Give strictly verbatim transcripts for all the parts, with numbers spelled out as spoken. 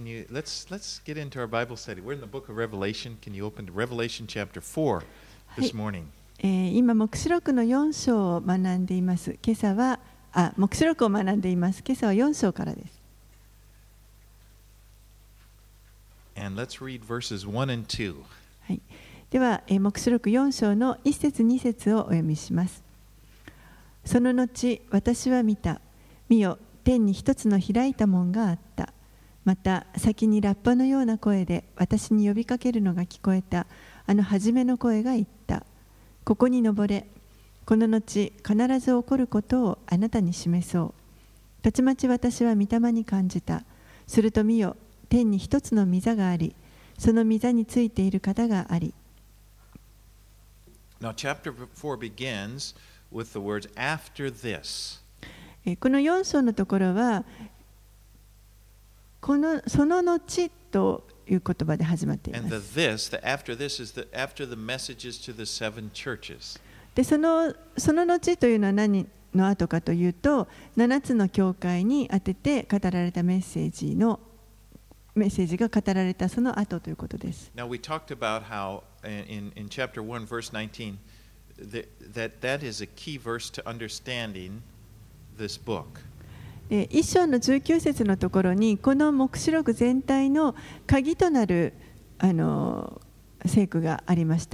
can you let's let's get into our Bible study. We're in the book of Revelation. Can you open to Revelation chapter four this morning? えー、今黙示録のよん章を学んでいます。今朝はあ黙示録を学んでいます。今朝はよん章からです。 And let's read verses one and two. はい。では、えー、黙示録よん章のいち節に節をお読みします。その後、私は見た。見よ、天に一つの開いた門があった。また先にラッパのような声で私に呼びかけるのが聞こえた。あの初めの声が言った。ここに登れ。この後必ず起こることをあなたに示そう。たちまち私は御霊に感じた。すると見よ、天に一つの御座があり、その御座についている方があり。 Now chapter four begins with the words after this. このよん章のところはこのその後という言葉で始まっています。 And the this, the after this is the after the messages to the seven churches. でそのその後というのは何の後かというと、ななつの教会に当てて語られたメッセージのメッセージが語られたその後ということです。 Now we talked about how in in chapter one verse nineteen that that that is a key verse to understanding this book. 一章のじゅうきゅう節のところにこの黙示録全体の鍵となるあの聖句がありました。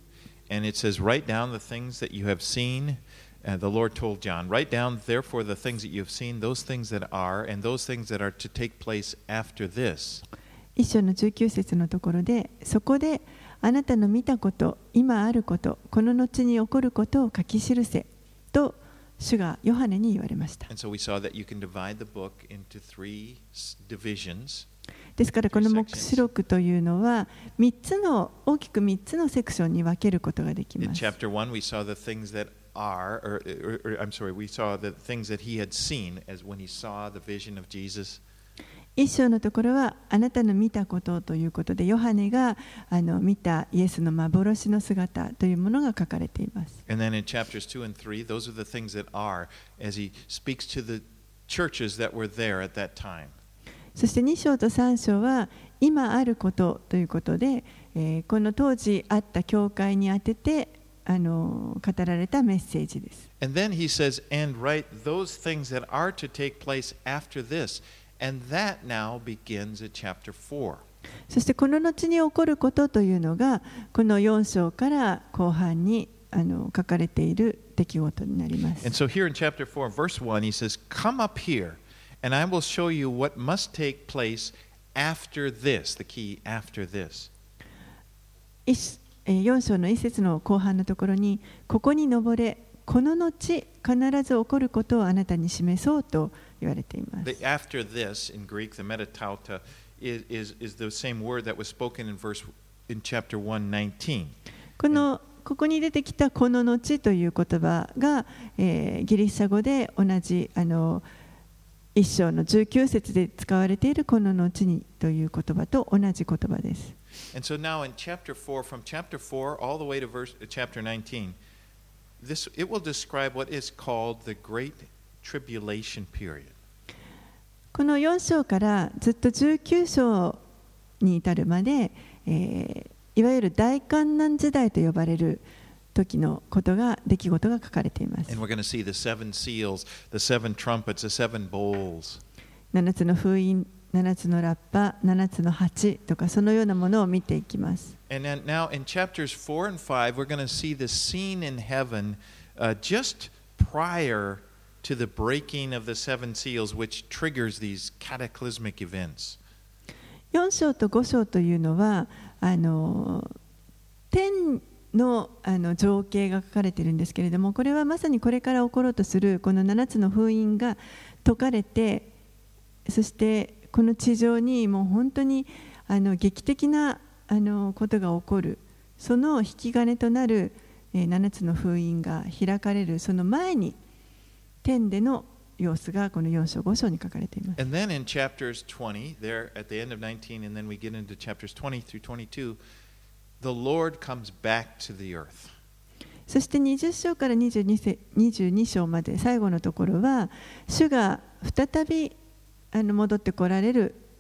And it says, write down the things that you have seen. And the Lord told John, write down therefore the things that you have seen, those things that are, and those things that are to take place after this. 一章のじゅうきゅう節のところで、そこであなたの見たこと、今あること、この後に起こることを書き記せと主がヨハネに言われました。 And so we saw that you can divide the book into three divisions. ですからこの黙示録というのはみっつの大きくみっつのセクションに分けることができます。 In chapter one we saw the things that are, or, or, or I'm sorry, we saw the things that he had seen as when he saw the vision of Jesus. 一章のところはあなたの見たことということで、ヨハネがあの見たイエスの幻の姿というものが書かれています。 And then in chapters two and three, those are the things that are as he speaks to the churches that were there at that time. そしてに章とさん章は今あることということで、えー、この当時あった教会にあててあの語られたメッセージです。 And then he says, and write those things that are to take place after this. And that now begins at chapter four. そしてこの後に起こることというのがこのよん章から後半にあの書かれている出来事になります。 And so here in chapter four, verse one, he says, come up here. And I will show you what must take place after this, the key after this. よん章のいち節の後半のところに、ここに登れ、この後必ず起こることをあなたに示そうと言われています。 The after this in Greek, the metatauta, is, is, is the same word that was spoken in verse in chapter one nineteen. このここに出てきたこの後という言葉が、えー、ギリシャ語で同じあの一章のじゅうきゅう節で使われているこの後にという言葉と同じ言葉です。 And so now in chapter four, from chapter four all the way to verse, uh, chapter nineteen, this, it will describe what is called the Great Tribulation Period. このよん章からずっとじゅうきゅう章に至るまで、えー、いわゆる大観難時代と呼ばれる時のことが出来事が書かれています。 And we're going to see the seven seals, the seven trumpets, the seven bowls. ななつの封印、ななつのラッパ、ななつの鉢とかそのようなものを見ていきます。 And then now in chapters four and five, we're going to see the scene in heaven uh, just prior to the breaking of the seven seals, which triggers these cataclysmic events. よん章とご章というのはあの天の, あの情景が書かれているんですけれども、これはまさにこれから起ころうとするこのななつの封印が解かれて、そしてこの地上にもう本当にあの劇的なあのことが起こる、その引き金となるななつの封印が開かれるその前に天での様子がこのよん章ご章に書かれています。 And then in chapters twenty, there at the end of nineteen, and then we get into chapters twenty through twenty-two, the Lord comes back to the earth. そしてにじゅう章からにじゅうにせにじゅうに章まで最後のところは、主が再びあの戻ってこられる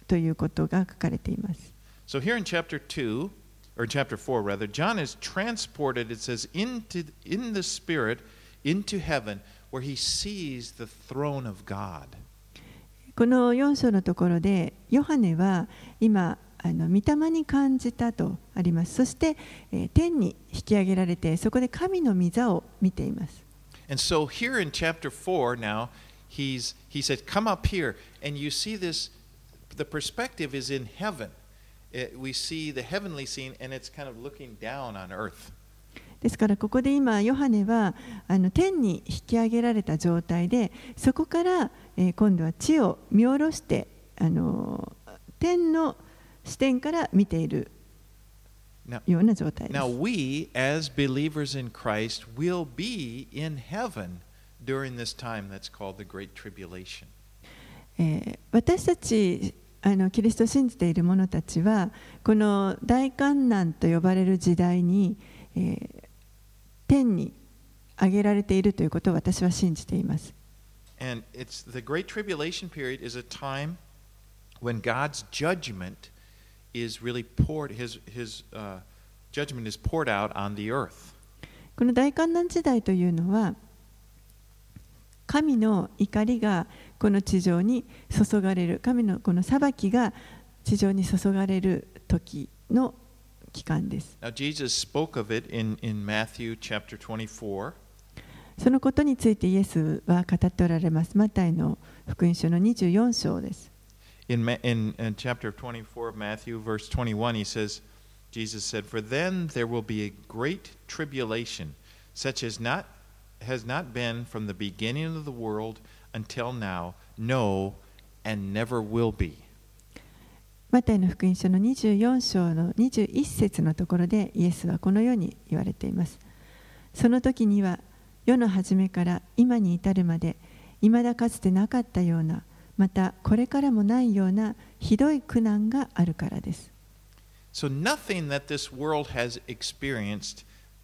ということが書かれています。 So here in chapter two, or chapter four rather, John is transported, it says, into, in the Spirit into heaven, where he sees the throne of God. このよん章のところで、ヨハネは今、あの御霊に感じたとあります。そして、えー、天に引き上げられて、そこで神の御座を見ています。 And so here in chapter four now, he's, he said, come up here, and you see this, the perspective is in heaven. It, we see the heavenly scene, and it's kind of looking down on earth. ですからここで今ヨハネはあの天に引き上げられた状態で、そこから、えー、今度は地を見下ろしてあの天の視点から見ているような状態です。 Now, now we as believers in Christ will be in heaven during this time that's called the Great Tribulation. えー、私たちあのキリストを信じている者たちはこの大観難と呼ばれる時代に、えー、天に上げられているということを私は信じています。 And it's the Great Tribulation period is a time when God's judgment is really poured, his, his, uh, judgment is poured out on the earth. この大観難時代というのは神の怒りがこの地上に注がれる、神のこの裁きが地上に注がれる時の期間です。 Now, Jesus spoke of it in, in Matthew chapter twenty-four. そのことについてイエスは語っておられます。マタイの福音書のにじゅうよん章です。 In, in, in chapter twenty-four of Matthew, verse twenty-one, he says, Jesus said, For then there will be a great tribulation, such as not, has not been from the beginning of the world until now, no, and never will be. マタイの福音書のにじゅうよん章のにじゅういち節のところでイエスはこのように言われています。その時には世の初めから今に至るまで未だかつてなかったような、またこれからもないようなひどい苦難があるからです。 So nothing that this world has experienced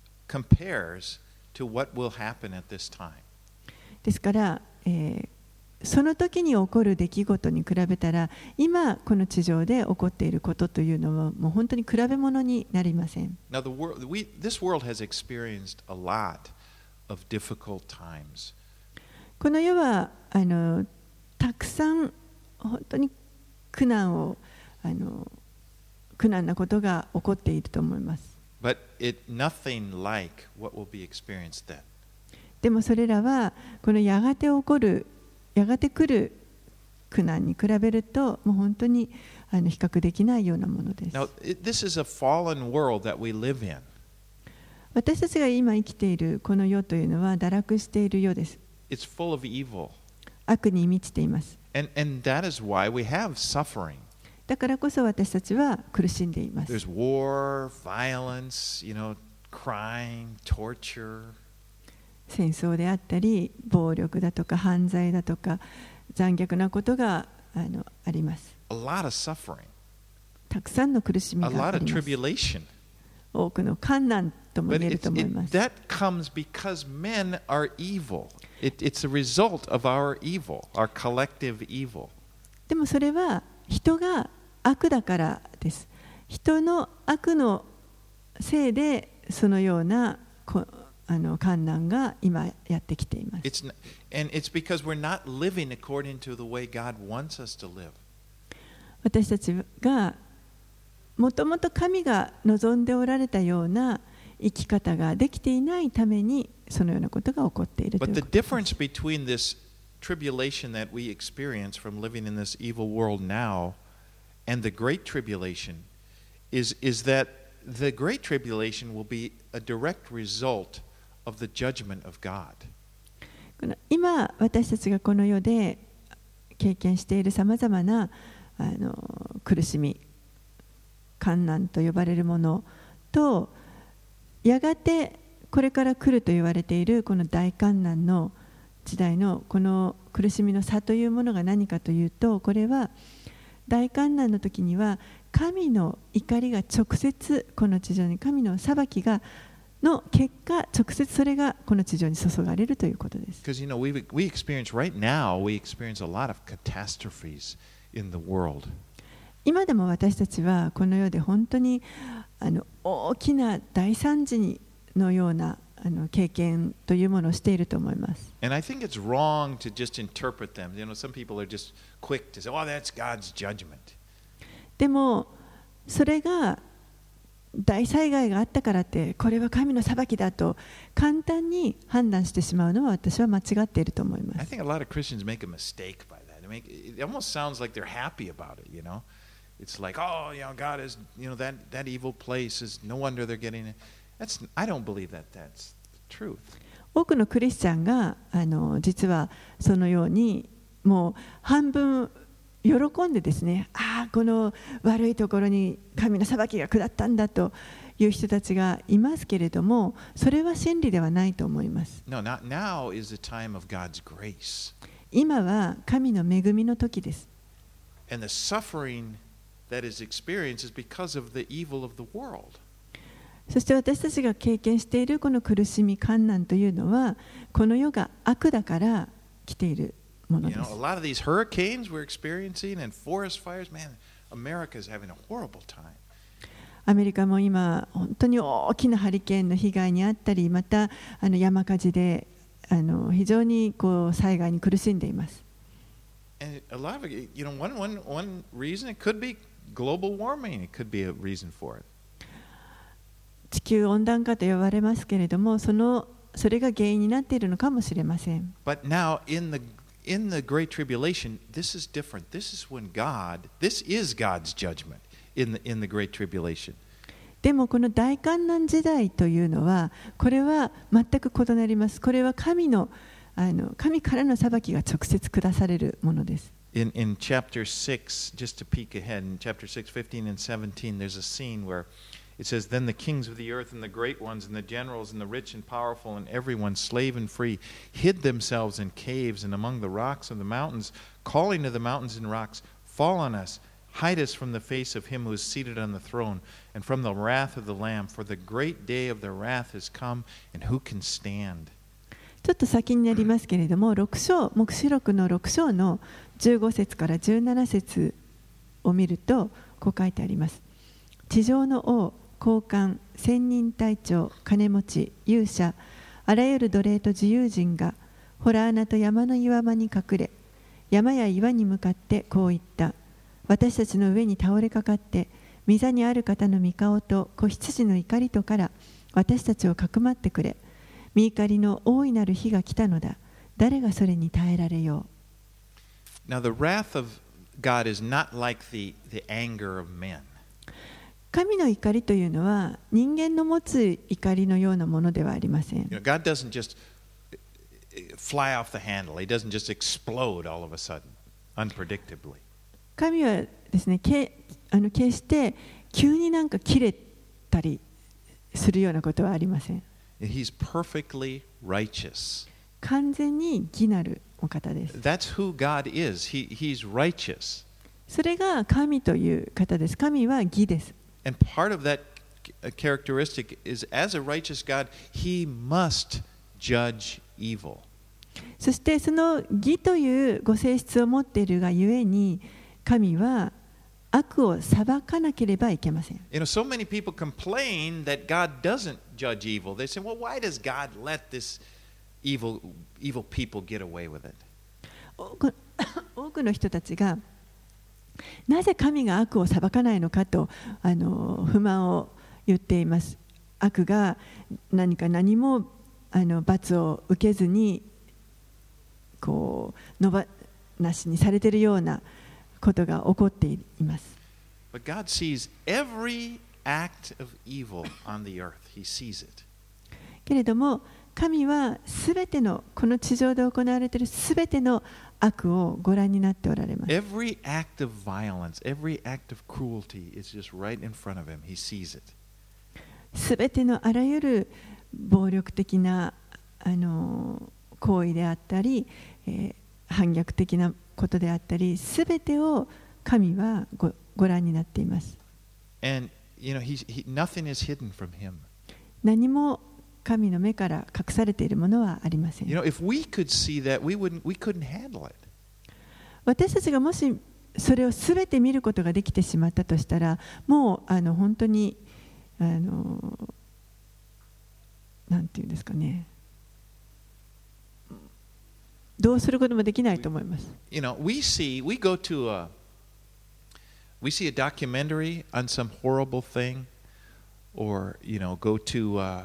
compares to what will happen at this time. ですから、えー、その時に起こる出来事に比べたら、今この地上で起こっていることというのはもう本当に比べ物になりません。 Now the world, we, this world has experienced a lot of difficult times. この世はあのたくさん本当に苦難をあの苦難なことが起こっていると思います。 But it nothing like what will be experienced then. でもそれらはこのやがて起こるやがて来る苦難に比べるともう本当にあの比較できないようなものです。 Now, this is a fallen world that we live in. 私たちが今生きているこの世というのは堕落している世です。 It's full of evil. 悪に満ちています。 And, and that is why we have suffering. だからこそ私たちは苦しんでいます。 There's war, violence, you know, crime, torture. 戦争であったり、暴力だとか犯罪だとか残虐なことが あの、あります。 A lot of suffering. たくさんの苦しみがあります。 A lot of tribulation. 多くの困難とも言えると思います。 But it, it, that comes because men are evil. It, it's a result of our evil, our collective evil. でもそれは人が悪だからです。人の悪のせいでそのようなこあの困難が今やってきています。 It's not, and it's because we're not living according to the way God wants us to live. 私たちがもともと神が望んでおられたような生き方ができていないためにそのようなことが起こっているということです。 But the difference between this tribulation that we experience from living in this evil world now and the Great Tribulation is, is that the Great Tribulation will be a direct result of the judgment of God. この今私たちがこの世で経験しているさまざまなあの苦しみ、困難と呼ばれるものとやがてこれから来ると言われているこの大困難の時代のこの苦しみの差というものが何かというと、これは大患難の時には神の怒りが直接この地上に、神の裁きがの結果、直接それがこの地上に注がれるということです。 Because you know we we experience right now we experience a lot of catastrophes in the world. 今でも私たちはこの世で本当にあの大きな大惨事のようなあの経験というものをしていると思います。 And I think it's wrong to just interpret them. You know, some people are just quick to say, "Oh, that's God's judgment." でもそれが大災害があったからってこれは神の裁きだと簡単に判断してしまうのは私は間違っていると思いま I す。 think a lot of Christians make a mistake by that. They make, it almost sounds like they're happy about it, you know? It's like, oh, you know, God is, you know, that, that evil place is no wonder they're getting it. That's, I don't believe that that's the truth. 多くのクリスチャンがあの実はそのようにもう半分喜んでですね、ああこの悪いところに神の裁きが下ったんだという人たちがいますけれども、それは真理ではないと思います。 No, not now is the time of God's grace. 今は神の恵みの時です。 And the suffering that is experienced is because of the evil of the world. そして私たちが経験しているこの苦しみ、患難というのはこの世が悪だから来ているもの You で know, す。 a lot of these hurricanes we're experiencing and forest fires, man, America is having a horrible time. アメリカも今本当に大きなハリケーンの被害にあったり、またあの山火事であの非常にこう災害に苦しんでいます。 And a lot of it, you know, one, one, one reason it could be global warming, it could be a reason for it. 地球温暖化と呼ばれますけれども、そのそれが原因になっているのかもしれません。 But now in the in the Great Tribulation, this is different. This is when God, this is God's judgment in the, in the Great Tribulation. でもこの大観難時代というのは、これは全く異なります。これは神の、あの神からの裁きが直接下されるものです。 In, in chapter six, just to peek ahead, in chapter six, fifteen and seventeen, there's a scene where it says, Then the kings of the earth and the great ones and the generals and the rich and powerful and everyone, slave and free, hid themselves in caves and among the rocks of the mountains, calling to the mountains and rocks, Fall on us, hide us from the face of him who is seated on the throne, and from the wrath of the Lamb, for the great day of their wrath has come, and who can stand? ちょっと先になりますけれども、ろく章、黙示録のろく章のじゅうご節からじゅうなな節を見ると、こう書いてあります。地上の王、高官、千人隊長、金持ち、勇者、あらゆる奴隷と自由人が、洞穴と山の岩場に隠れ、山や岩に向かってこう言った。私たちの上に倒れかかって、御座にある方の御顔と子羊の怒りとから私たちをかくまってくれ。御怒りの大いなる日が来たのだ。誰がそれに耐えられよう。 Now, the wrath of God is not like the, the anger of men. 神の怒りというのは人間の持つ怒りのようなものではありません。 You know, God doesn't just fly off the handle. He doesn't just explode all of a sudden, unpredictably. 神はですね、けあの決して急になんか切れたりするようなことはありません。 He's perfectly righteous. 完全に義なるお方です。 That's who God is. He, he's righteous. それが神という方です。神は義です。 And part of that characteristic is, as a righteous God, He must judge evil. そしてその義というご性質を持っているがゆえに、神は悪を裁かなければいけません。 You know, so many people complain that God doesn't judge evil. They say, well, why does God let this evil, evil people get away with it? 多く多くの人たちがなぜ神が悪を裁かないのかとあの不満を言っています。悪が何か何もあの罰を受けずにこう野放しにされているようなことが起こっています。 But God sees every act of evil on the earth. He sees it. けれども神はすべてのこの地上で行われているすべての悪をご覧になっておられます。 Every act of violence, every act of cruelty is just right in front of him. He sees it. すべてのあらゆる暴力的なあの行為であったり、えー、反逆的なことであったり、すべてを神は ご, ご覧になっています。 And you know, he's, he, nothing is hidden from him. 何も神の目から隠されているものはありません。 You know, if we could see that, we wouldn't, we couldn't handle it. 私たちがもしそれをすべて見ることができてしまったとしたら、もうあの本当にあのなんていうんですかね、どうすることもできないと思います。 You know, we see, we go to a, we see a documentary on some horrible thing, or you know, go to. Uh,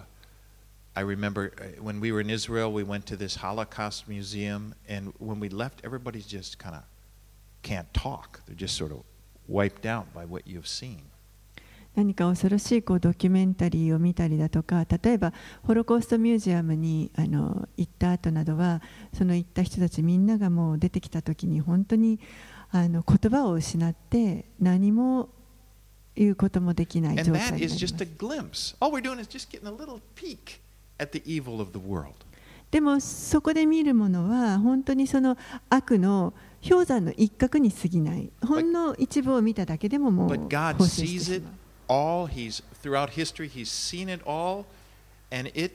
I remember when we were in Israel, we went to this Holocaust museum, and when we left, everybody's just kind of can't talk. They're just sort of wiped out by what you've seen. 何か恐ろしいこうドキュメンタリーを見たりだとか、例えばホロコーストミュージアムにあの行った後などは、その行った人たちみんながもう出てきた時に本当にあの言葉を失って何も言うこともできない状態になります。And that is just a glimpse. All we're doing is just getting a little peek at the evil of the world. でもそこで見るものは本当にその悪の氷山の一角に過ぎない。ほんの一部を見ただけでももう放射してしまう。All he's throughout history he's seen it all, and it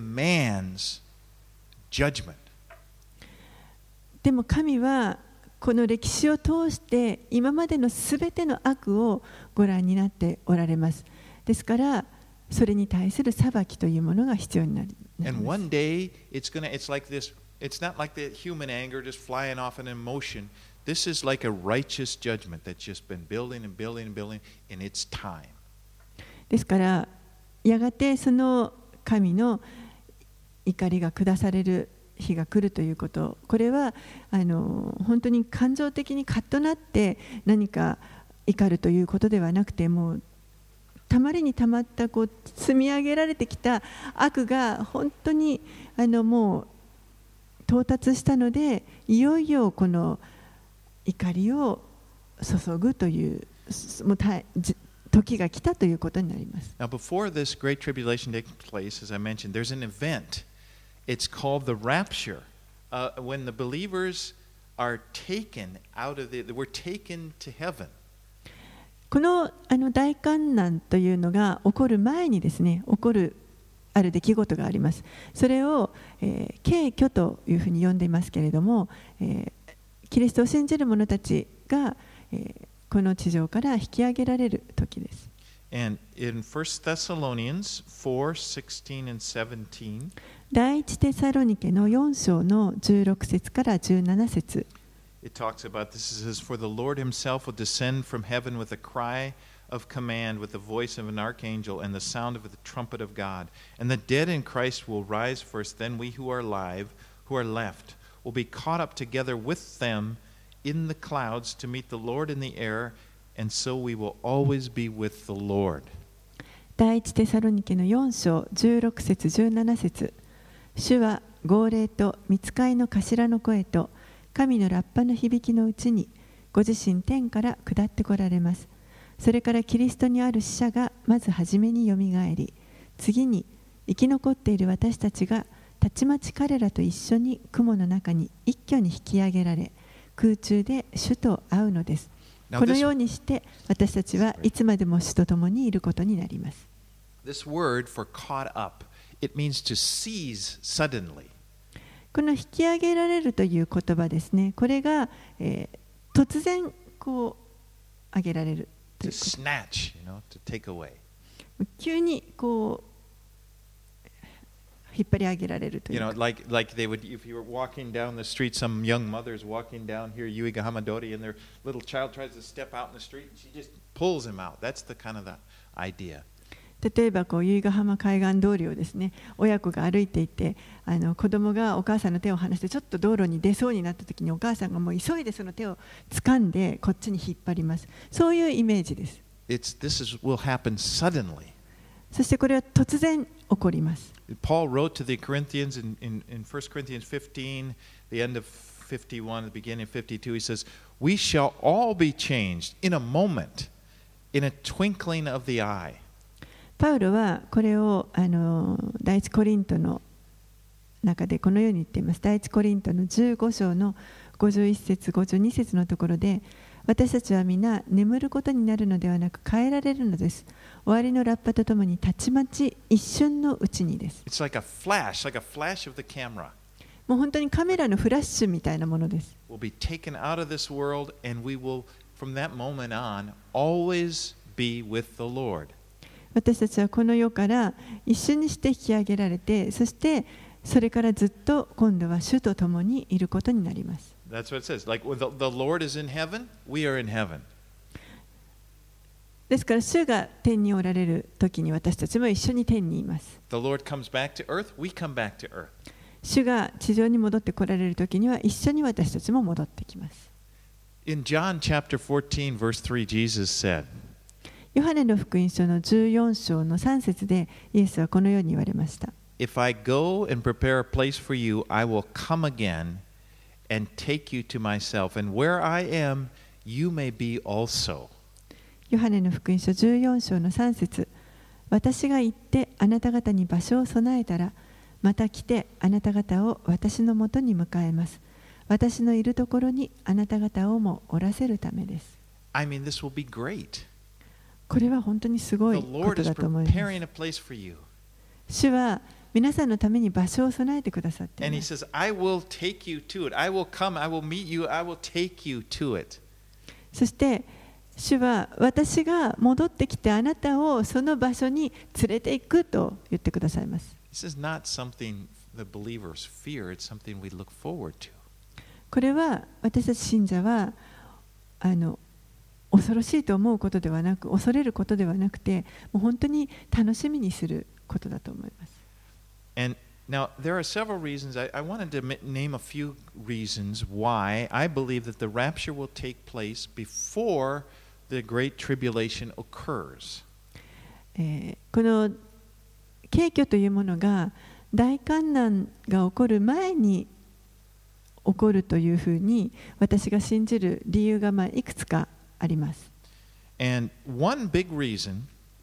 demands judgment. でも神はこの歴史を通して今までのすべての悪をご覧になっておられます。ですからそれに対する裁きというものが必要になります。 And one day it's gonna, it's like this. It's not like the human anger just flying off an emotion. This is like a righteous judgment that's just been building and building and building in its time. ですからやがてその神の怒りが下される日が来るということ、これはあの本当に感情的にカッとなって何か怒るということではなくて、もうたまりにたまったこう積み上げられてきた悪が本当にあのもう到達したので、いよいよこの怒りを注ぐというもう時が来たということになります。 Now, before this great tribulation takes place, as I mentioned, there's an event. It's called the rapture. Uh, when the believers are taken out of the, we're taken to heaven. このあの大観難というのが起こる前にですね、起こるある出来事があります。それを、えー、敬虚というふうに呼んでいますけれども、えー、キリストを信じる者たちが、えー、この地上から引き上げられる時です。 And in First Thessalonians four sixteen and seventeen, 第一テサロニケのよん章のじゅうろく節からじゅうなな節。 It talks about this. It says, "For the Lord Himself will descend from heaven with a cry of command, with the voice of an archangel, and the sound of the trumpet of God. And the dead in Christ will rise first. Then we who are alive, who are left, will be caught up together with them in the clouds to meet the Lord in the air, and so we will always be with the Lord." 第一テサロニケのよん章じゅうろく節じゅうなな節。主は号令と御使いの頭の声と神のラッパの響きのうちにご自身天から下ってこられます。それからキリストにある死者がまず初めによみがえり、次に生き残っている私たちがたちまち彼らと一緒に雲の中に一挙に引き上げられ、空中で主と会うのです。このようにして私たちはいつまでも主と共にいることになります。 This word for caught up, it means to seize suddenly. この引き上げられるという言葉ですね。これが、えー、突然こう上げられるということ。 To snatch, you know, to take away. 急にこう引っ張り上げられるという。 You know, like like they would, if you were walking down the street, some young mothers walking down here, Yuiga Hamadori, and their little child tries to step out in the street, and she just pulls him out. That's the kind of the idea. 例えばこう由比ヶ浜海岸通りをですね、親子が歩いていて、あの子供がお母さんの手を離してちょっと道路に出そうになった時に、お母さんがもう急いでその手を掴んでこっちに引っ張ります。そういうイメージです。 It's, this is, will happen suddenly. そしてこれは突然起こります。 Paul wrote to the Corinthians in, in, in First Corinthians fifteen, the end of fifty-one, the beginning of fifty-two, he says, "We shall all be changed in a moment, in a twinkling of the eye." パウロはこれをあの第一コリントの中でこのように言っています。第一コリントのじゅうご章のごじゅういち節ごじゅうに節のところで、私たちは皆眠ることになるのではなく変えられるのです。終わりのラッパとともにたちまち一瞬のうちにです。 It's like a flash, like a flash of the camera. もう本当にカメラのフラッシュみたいなものです。 We'll be taken out of this world and we will from that moment on, always be with the Lord. 私たちはこの世から一瞬にして引き上げられて、そしてそれからずっと今度は主と共にいることになります。 That's what it says. Like when the, the Lord is in heaven, we are in heaven. ですから主が天におられる時に私たちも一緒に天にいます。 The Lord comes back to earth, we come back to earth. 主が地上に戻ってこられる時には一緒に私たちも戻ってきます。 In John chapter fourteen, verse three, Jesus said, ヨハネの福音書のじゅうよん章のさん節でイエスはこのように言われました。 If I go and prepare a place for you, I will come again and take you to myself, and where I am, you may be also. ヨハネの福音書じゅうよん章のさん節、私が行ってあなた方に場所を備えたら、また来てあなた方を私のもとに迎えます。私のいるところにあなた方をもおらせるためです。 I mean, this will be great. これは本当にすごい The こ Lord と is だと思います。 preparing a place for you. 主は皆さんのために場所を備えてくださってい And ま He す。 says, I will take you to it. I will come, I will meet you, I will take you to it. そして主は私が戻ってきてあなたをその場所に連れて行くと言ってくださいます。 This is not something the believers fear, it's something we look forward to. これは私たち信者はあの恐ろしいと思うことではなく、恐れることではなくて、もう本当に楽しみにすることだと思います。 And now, there are several reasons. I, I wanted to m- name a few reasons why I believe that the rapture will take place before the Great Tribulation occurs. えーこの景挙というものが大観難が起こる前に起こるというふうに私が信じる理由がまあいくつかあります。 And one big reason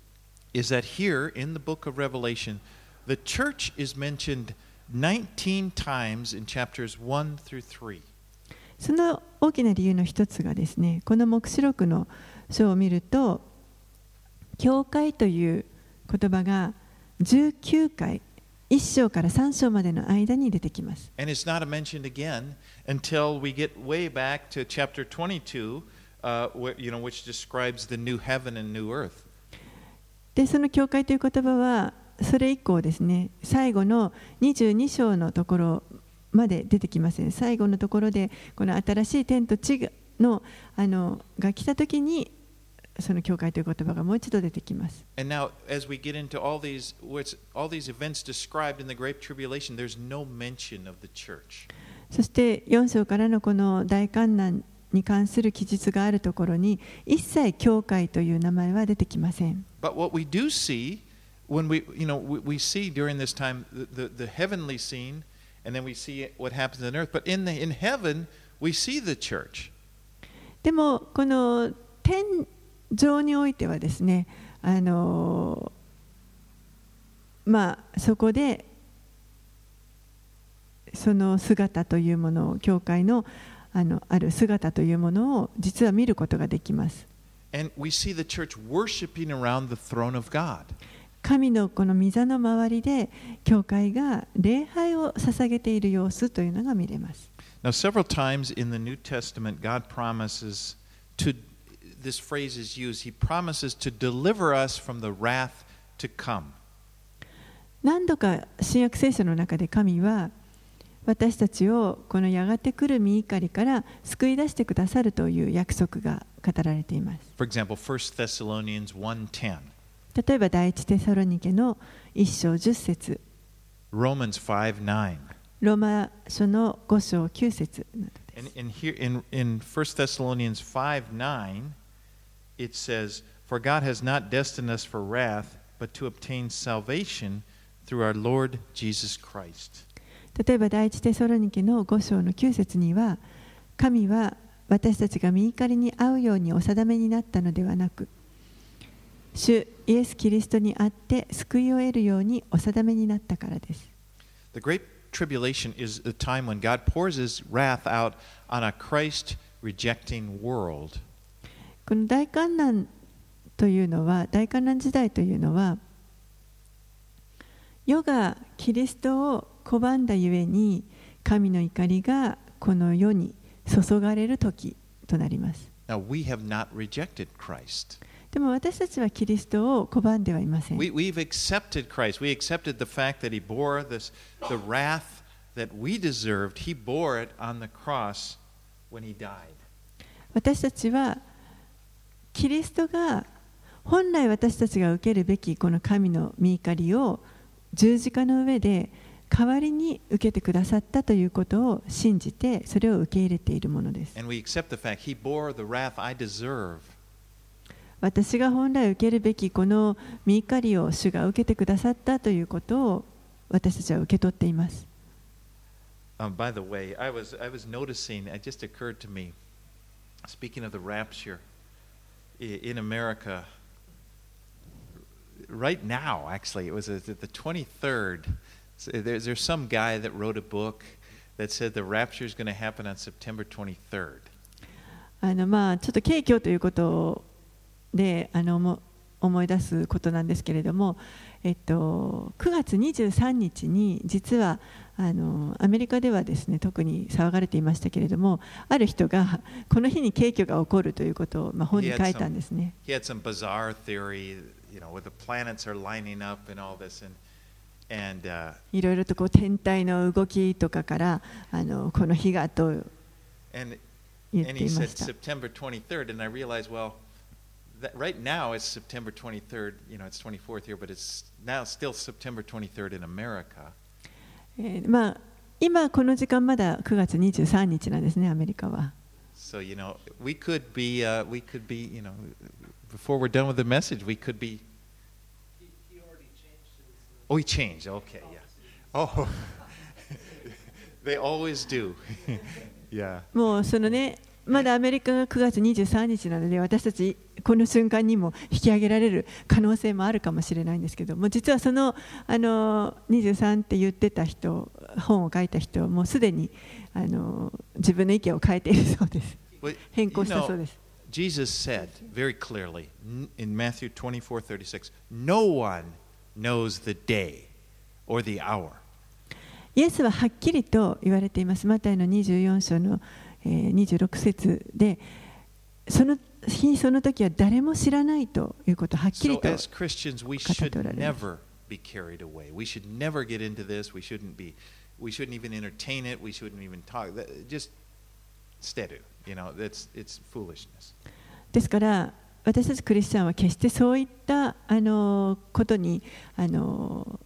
is that here in the book of Revelation, the church is mentioned nineteen times in chapters one through three. その大きな理由の一つがですね、この黙示録の書を見ると、教会という言葉がじゅうきゅうかい、いっ章からさん章までの間に出てきます。 And it's not mentioned again until we get way back to chapter twenty-two, uh, where, you know, which describes the new heaven and new earth. で、その教会という言葉は、それ以降ですね、最後のにじゅうに章のところまで出てきません。最後のところで、この新しい天と地のあのが来たときに、その教会という言葉がもう一度出てきます。 And now, as we get into all these, what's, all these events described in the Great Tribulation, there's no mention of the church. そしてよん章からのこの大観難に関する記述があるところに、一切教会という名前は出てきません。 But what we do see, when we, you know, we, we see during this time the, the, the heavenly scene, and then we see what happens on earth. But in, the, in heaven, we see the church. でも、この天上においてはですね、あのまあそこでその姿というものを、教会のあのある姿というものを実は見ることができます。 And we see the church worshiping around the throne of God. 神のこの御座の周りで教会が礼拝を捧げている様子というのが見れます。 Now, several times in the New Testament, God promises to, this phrase is used, He promises to deliver us from the wrath to come. 何度か新約聖書の中で神は私たちをこのやがて来る御怒りから救い出してくださるという約束が語られています。 For example, First Thessalonians one ten, 例えば第一テサロニケの一章十節、 Romans five nine. ローマ書の五章九節などです。 And, and here in, in First Thessalonians five nine, it says, For God has not destined us for wrath, but to obtain salvation through our Lord Jesus Christ. 例えば第一テサロニケの五章の九節には、神は私たちが御怒りに遭うようにお定めになったのではなく、主イエス・キリストにあって救いを得るようにお定めになったからです。 The Great Tribulation is the time when God pours His wrath out on a Christ-rejecting world. この大観難というのは、大観難時代というのは、世がキリストを拒んだゆえに神の怒りがこの世に注がれる時となります。 Now, we have not rejected Christ. でも私たちはキリストを拒んではいません。 We, we've accepted Christ. We accepted the fact that He bore this, the wrath that we deserved. He bore it on the cross when He died. 私たちはキリストが本来私たちが受けるべきこの神の御怒りを十字架の上で代わりに受けてくださったということを信じてそれを受け入れているものです。 And we accept the fact He bore the wrath I deserve. 私が本来受けるべきこの御怒りを主が受けてくださったということを私たちは受け取っています。 Um, by the way, I was, I was noticing, it just occurred to me, speaking of the rapture in America, right now, actually, it was the twenty-third. There's, there's some guy that wrote a book that said the rapture is going to happen on September twenty-third. あのまあちょっと景況ということであのも思い出すことなんですけれども、えっと、くがつにじゅうさんにちに実はあのアメリカではですね特に騒がれていましたけれども、ある人がこの日に景況が起こるということを、まあ、本に書いたんですね。 He had some bizarre theory, you know, where the planets are lining up and all this, and and uh, いろいろとこう天体の動きとかからあのこの日がと言っていました。 September twenty-third, and I realized, well, that right now it's September twenty-third, you know, it's twenty-fourth here, but it's now still September twenty-third in America. えー、まあ今この時間まだくがつにじゅうさんにちなんですね、アメリカは。 So, you know, we could be, uh, we could be, you know, before we're done with the message, we could be. He, he already changed his. Oh, he changed. Okay, yeah. Oh, they always do. Yeah. もうそのね、まだアメリカがくがつにじゅうさんにちなので、私たちこの瞬間にも引き上げられる可能性もあるかもしれないんですけども、実はそのあのにじゅうさんって言ってた人、本を書いた人はもうすでにあの自分の意見を変えているそうです。変更したそうです。 Jesus said very clearly in Matthew twenty-four thirty-six, no one knows the day or the hour. イエスははっきりと言われています。マタイのにじゅうよん章のにじゅうろく節で、その日その時は誰も知らないということをはっきりと語っておられます。 Be carried away. We should never get into this. We shouldn't be. We shouldn't even entertain it. We shouldn't even talk. Just steady. You know, that's it's foolishness. ですから私たちクリスチャンは決してそういったあのことにあの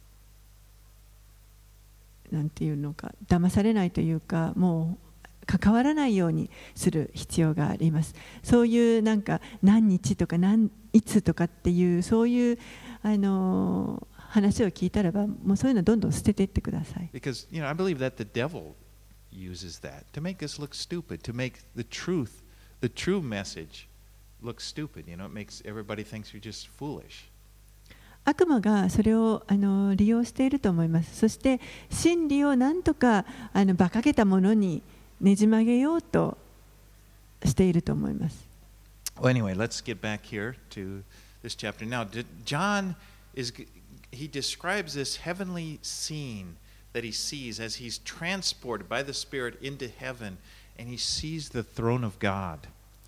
なんていうのか騙されないというか、もう関わらないようにする必要があります。そういうなんか何日とか何いつとかっていうそういうあの話を聞いたらば、もうそういうのどんどん捨てていってください。 Because you know, I believe that the devil uses that to make us look stupid, to make the truth, the true message look stupid. You know, it makes everybody thinks you're just foolish. 悪魔がそれをあの利用していると思います。そして真理をなんとかあの馬鹿げたものにねじ曲げようとしていると思います。 Well, anyway, let's get back here to this chapter. Now, John is he describes this heavenly scene that he sees as he's transported by the Spirit into heaven, and he sees the throne of God.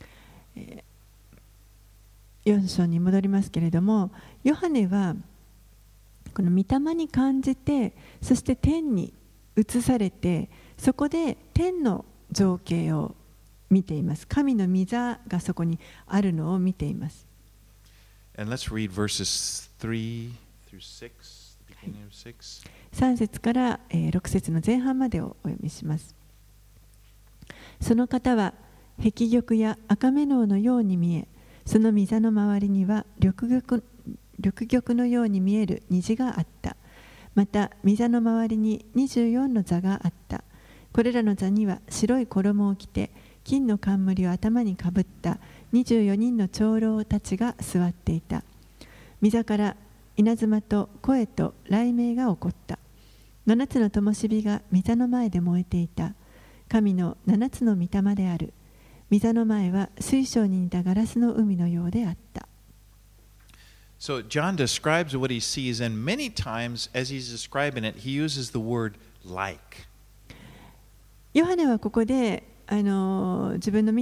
よん章に戻りますけれども、ヨハネはこの御霊に感じて、そして天に移されて、そこで天の情景を見ています。神の御座がそこにあるのを見ています。 And let's read verses three through six, the beginning of six. さん節からろく節の前半までをお読みします。その方は壁玉や赤目ののように見え、その御座の周りには緑玉、緑玉のように見える虹があった。また御座の周りににじゅうよんの座があった。これらの座には白い衣を着て金の冠を頭にかぶったにじゅうよにんの長老たちが座っていた。御座から稲妻と声と雷鳴が起こった。七つの灯火が御座の前で燃えていた。神の七つの御霊である。御座の前は水晶に似たガラスの海のようであった。 So John describes what he sees, and many times as he's describing it, he uses the word like. ヨハネはここであの自分の見た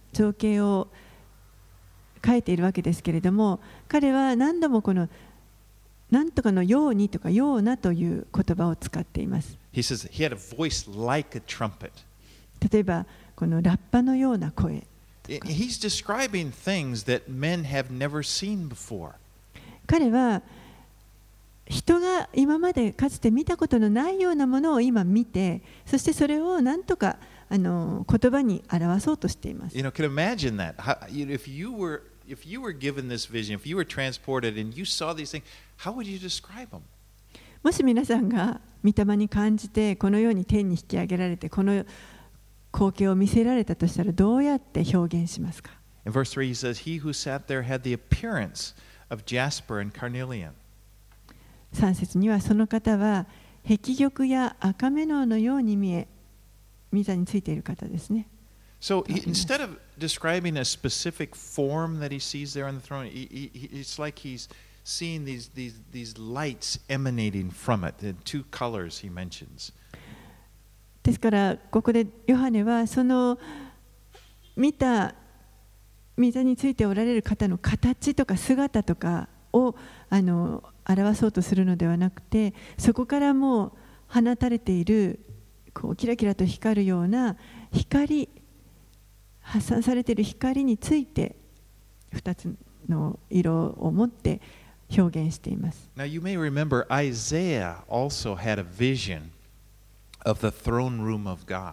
情景を書いているわけですけれども、彼は何度もこのなんとかのようにとかようなという言葉を使っています。 He says he had a voice like a trumpet. 例えばこのラッパのような声。 He's describing things that men have never seen before. 彼は人が今までかつて見たことのないようなものを今見て、そしてそれをなんとかあの言葉に表そうとしています。 You know, can imagine that. How, if you were if you were given this vision, if you were transported and you saw these things, how would you describe them? もし皆さんが御霊に感じてこのように天に引き上げられてこの光景を見せられたとしたらどうやって表現しますか？ In verse three, he says, "He who sat there had the appearance of jasper and carnelian." さん節にはその方は碧玉や赤メノウのように見え、御座についている方ですね。 So he, instead of describing a specific form that he sees there on the throne, he, he, it's like he's seeing these, these, these lights emanating from it, the two colors he mentions. ですからここでヨハネはその見た御座についておられる方の形とか姿とかをあの表そうとするのではなくて、そこからもう放たれているこうキラキラと光るような光、発散されている光についてふたつの色を持って表現しています。 Now you may remember Isaiah also had a vision of the throne room of God.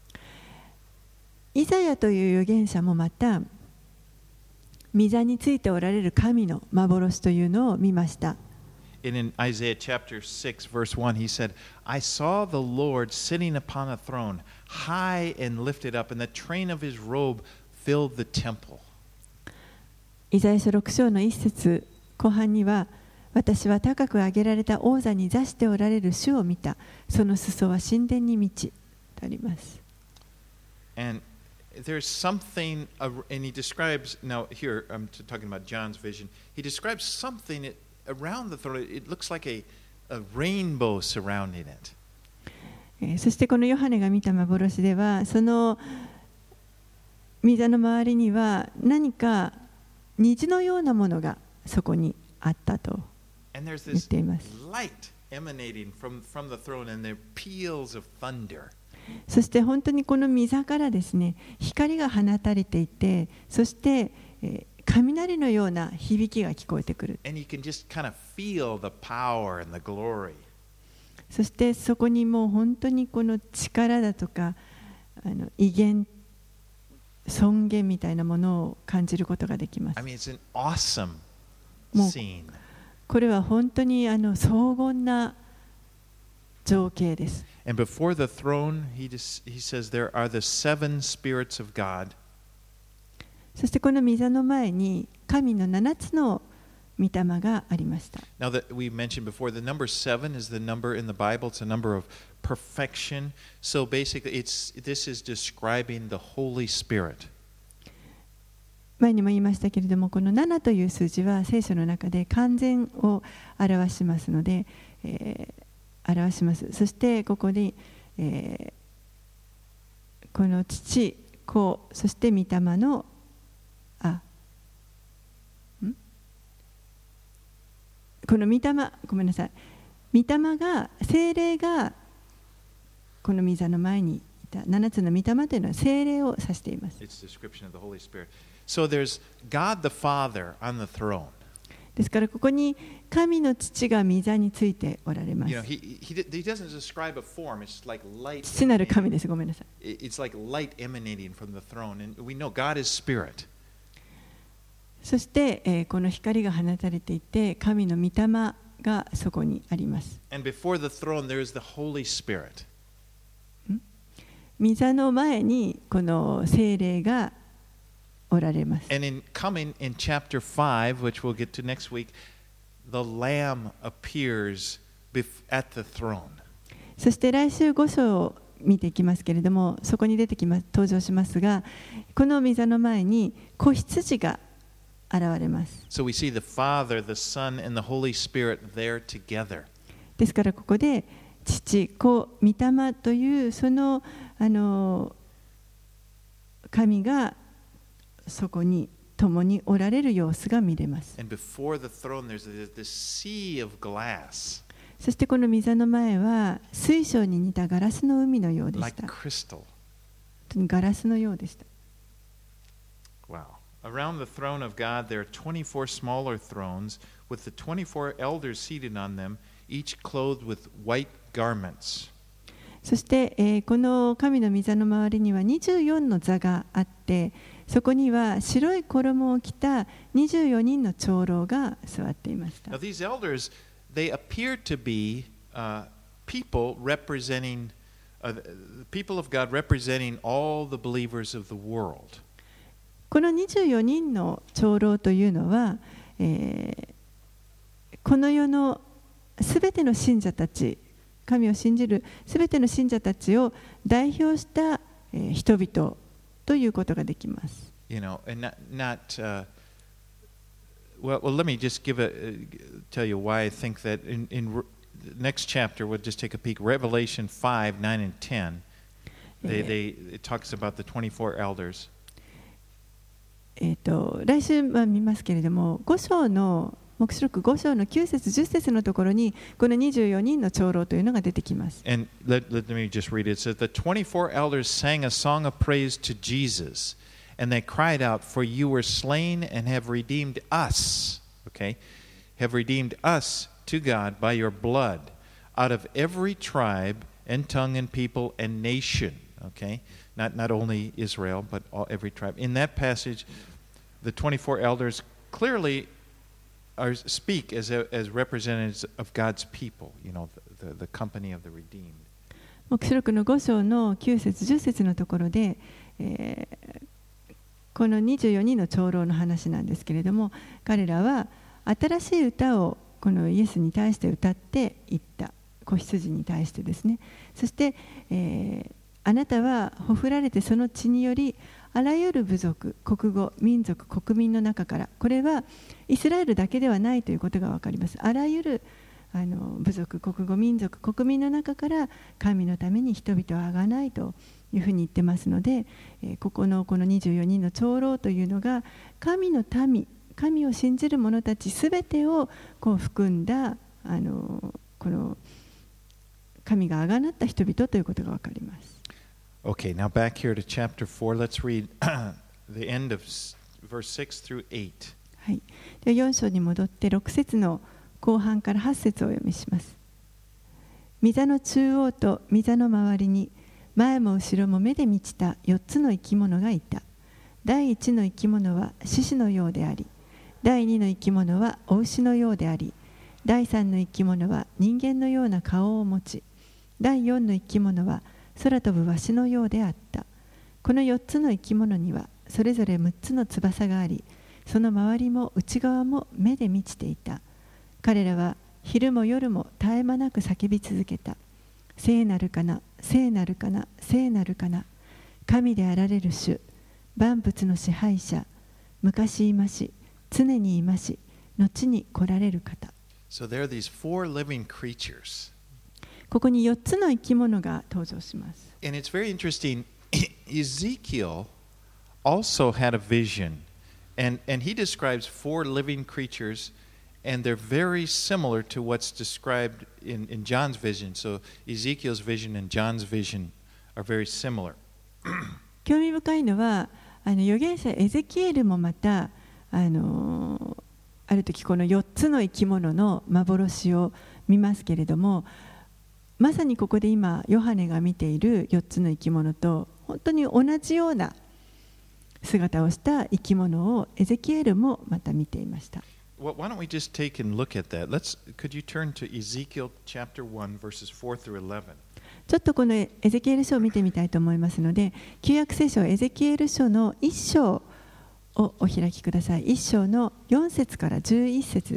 イザヤという預言者もまた御座についておられる神の幻というのを見ました。 And in Isaiah chapter six, verse one, he said, I saw the Lord sitting upon a throne, high and lifted up, and the train of his robe filled the temple. イザヤ書ろく章の一節後半には、私は高く上げられた王座に座しておられる主を見た。その裾は神殿に満ちとあります。 And there's something, and he describes, now here I'm talking about John's vision, he describes something around the throne. It looks like a, a rainbow surrounding it. そしてこのヨハネが見た幻では、その御座の周りには何か虹のようなものがそこにあったと言っています。そして本当にこの御座からですね、光が放たれていて、そして、えー、雷のような響きが聞こえてくる。 Kind of feel the power and the glory. そしてそこにもう本当にこの力だとかあの威厳、尊厳みたいなものを感じることができます。 I mean, it's an awesome もう scene. これは本当にあの荘厳な情景です。 And before the throne, he, just, he says there are the seven spirits of God. そしてこの御座の前に神の七つの御霊がありました。 Now that we mentioned before, the number seven is the number in the Bible. It's a number of perfection. So basically, it's this is describing the Holy Spirit. 前にも言いましたけれども、このななという数字は聖書の中で完全を表しますので、えー、表します。そしてここに、えー、この父、子、そして御霊のあこの御霊、ごめんなさい。御霊が、聖霊がこの御座の前にいたななつの御霊というのは聖霊を指しています。 So there's God the Father on the throne. ですからここに神の父が御座についておられます。 You know, he, he, he doesn't describe a form. It's like light. 父なる神です。ごめんなさい。 It's like light emanating from the throne, and we know God is spirit. そして、えー、この光が放たれていて、神の御霊がそこにあります。 And before the throne, there is the Holy Spirit. 御座の前にこの聖霊がおられます。 And in coming in chapter five, which we'll get to next week, the Lamb appears at the throne. そして来週ご章を見ていきますけれども、そこに出てきます、登場しますが、この御座の前に子羊が現れます。 So we see the Father, the Son, and the Holy Spirit there together. ですからここで父、子、御霊というそのあの神がそこに共におられる様子が見れます。 And before the throne, there's this sea of glass, そしてこの御座の前は水晶に似たガラスの海のようでし like た。 crystal. 本当にガラスのようでした。 Wow. Around the throne of God, there are twenty-four smaller thrones with the twenty-four elders seated on them, each clothed with white garments. そして、えーこの神の御座の周りにはにじゅうよんの座があって、そこには白い衣を着たにじゅうよにんの長老が座っていました。 Now, these elders, they appear to be uh, people representing, uh, the people of God representing all the believers of the world. このにじゅうよにんの長老というのは、えーこの世のすべての信者たち、神を信じるすべての信者たちを代表した、えー人々ということができます。 You know, and not, not uh, well, well, let me just give a, uh, tell you why I think that in, in Re- the next chapter, we'll just take a peek. Revelation five, nine, and ten, they, they, it talks about the twenty-four elders. えーと来週は見ますけれども、ご章の黙示録ご章のきゅう節じゅっ節のところにこのにじゅうよにんの長老というのが出てきます。 And let, let me just read it. It says, The twenty-four elders sang a song of praise to Jesus, and they cried out, For you were slain and have redeemed us, okay, have redeemed us to God by your blood, out of every tribe and tongue and people and nation, okay, not, not only Israel, but all, every tribe. In that passage, the twenty-four elders clearly are, speak as, a, as representatives of God's people, you know, the, the, the company of the redeemed. 黙示録のご章のきゅう節じゅっ節のところで、えーこのにじゅうよにんの長老の話なんですけれども、彼らは新しい歌をこのイエスに対して歌っていった。子羊に対してですね。そして、えーあなたはほふられてその血によりあらゆる部族、国語、民族、国民の中から、これはイスラエルだけではないということが分かります。あらゆるあの部族、国語、民族、国民の中から神のために人々をあがないというふうに言ってますので、えーここのこのにじゅうよにんの長老というのが神の民、神を信じる者たちすべてをこう含んだあのこの神があがなった人々ということが分かります。 Okay, now back here to chapter four. Let's read the end of verse six through eight. はい、ではよん章に戻ってろく節の後半からはち節をお読みします。御座の中央と御座の周りに前も後ろも目で満ちたよっつの生き物がいた。第一の生き物は獅子のようであり、第二の生き物は雄牛のようであり、第三の生き物は人間のような顔を持ち、第四の生き物は空飛ぶワシのようであった。このよっつの生き物にはそれぞれむっつの翼があり、その周りも内側も目で満ちていた。彼らは昼も夜も絶え間なく叫び続けた。聖なるかな、聖なるかな、聖なるかな。神であられる主、万物の支配者、昔いまし、常にいまし、後に来られる方。 So there are these four living creatures. ここによっつの生き物が登場します。 And it's very interesting. Ezekiel also had a vision, and, and he describes four living creatures, and they're very similar to what's described in, in John's vision. So Ezekiel's vision and John's vision are very similar. 興味深いのは、あの預言者エゼキエルもまた、あのある時このよっつの生き物の幻を見ますけれども、まさにここで今ヨハネが見ているよっつの生き物と本当に同じような姿をした生き物をエゼキエルもまた見ていました。 Well, why don't we just take and look at that? Let's, could you turn to Ezekiel chapter one, verses four through eleven? ちょっとこのエゼキエル書を見てみたいと思いますので、旧約聖書エゼキエル書のいっ章をお開きください。いっ章のよん節からじゅういち節です。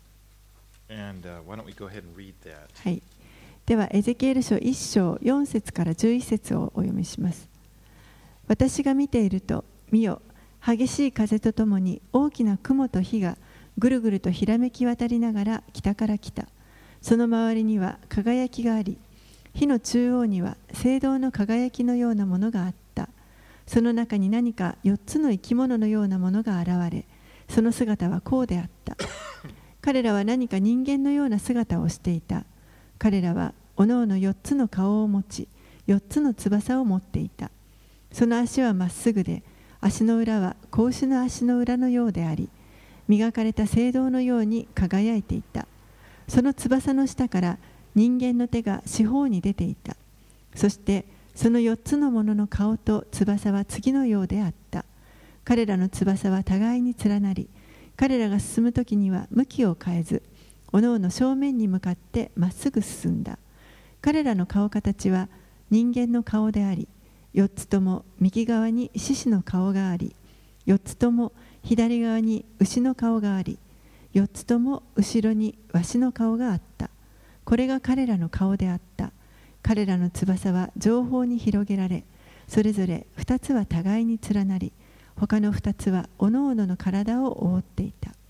And uh, why don't we go ahead and read that? はい。ではエゼキエル書いっ章よん節からじゅういち節をお読みします。私が見ていると、見よ、激しい風とともに大きな雲と火がぐるぐるとひらめき渡りながら北から来た。その周りには輝きがあり、火の中央には青銅の輝きのようなものがあった。 その中に何かよっつの生き物のようなものが現れ、その姿はこうであった。彼らは何か人間のような姿をしていた。彼らはおのおのよっつの顔を持ち、よっつの翼を持っていた。その足はまっすぐで、足の裏は子牛の足の裏のようであり、磨かれた青銅のように輝いていた。その翼の下から人間の手が四方に出ていた。そしてそのよっつのものの顔と翼は次のようであった。彼らの翼は互いに連なり、彼らが進むときには向きを変えず、おのおの正面に向かってまっすぐ進んだ。彼らの顔形は人間の顔であり、よっつとも右側に獅子の顔があり、よっつとも左側に牛の顔があり、よっつとも後ろにわしの顔があった。これが彼らの顔であった。彼らの翼は上方に広げられ、それぞれ二つは互いに連なり、他の二つはおのおのの体を覆っていた。